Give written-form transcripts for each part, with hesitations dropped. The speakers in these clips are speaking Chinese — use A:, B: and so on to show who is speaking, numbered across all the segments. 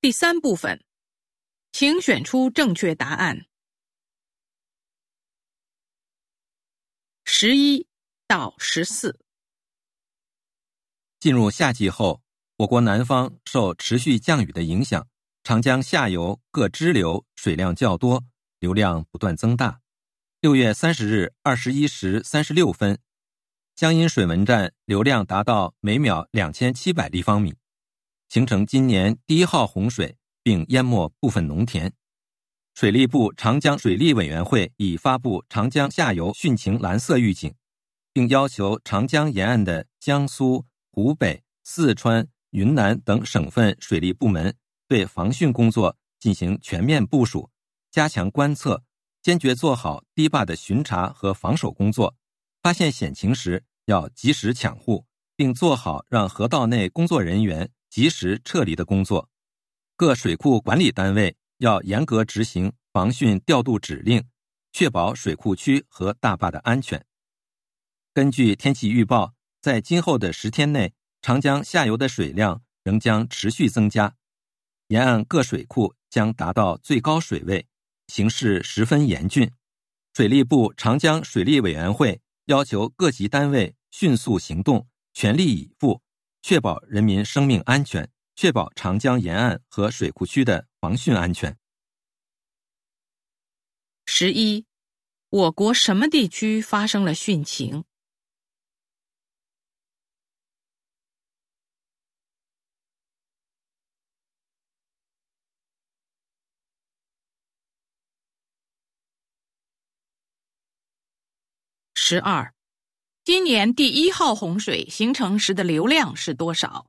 A: 第3部分，请选出正确答案。11到14。
B: 进入夏季后，我国南方受持续降雨的影响，长江下游各支流水量较多，流量不断增大。6月30日21时36分，江阴水文站流量达到每秒2700立方米，形成今年第1号洪水，并淹没部分农田。水利部长江水利委员会已发布长江下游汛情蓝色预警，并要求长江沿岸的江苏、湖北、四川、云南等省份水利部门对防汛工作进行全面部署，加强观测，坚决做好堤坝的巡查和防守工作，发现险情时要及时抢护，并做好让河道内工作人员及时撤离的工作。各水库管理单位要严格执行防汛调度指令，确保水库区和大坝的安全。根据天气预报，在今后的10天内，长江下游的水量仍将持续增加，沿岸各水库将达到最高水位，形势十分严峻。水利部长江水利委员会要求各级单位迅速行动，全力以赴，确保人民生命安全，确保长江沿岸和水库区的防汛安全。
A: 11，我国什么地区发生了汛情？12，今年第1号洪水形成时的流量是多少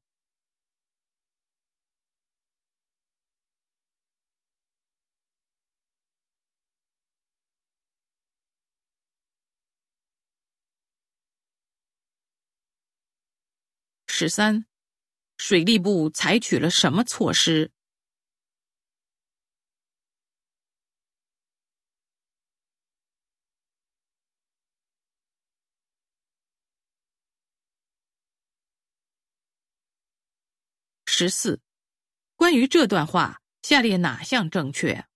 A: ？13，水利部采取了什么措施？14，关于这段话，下列哪项正确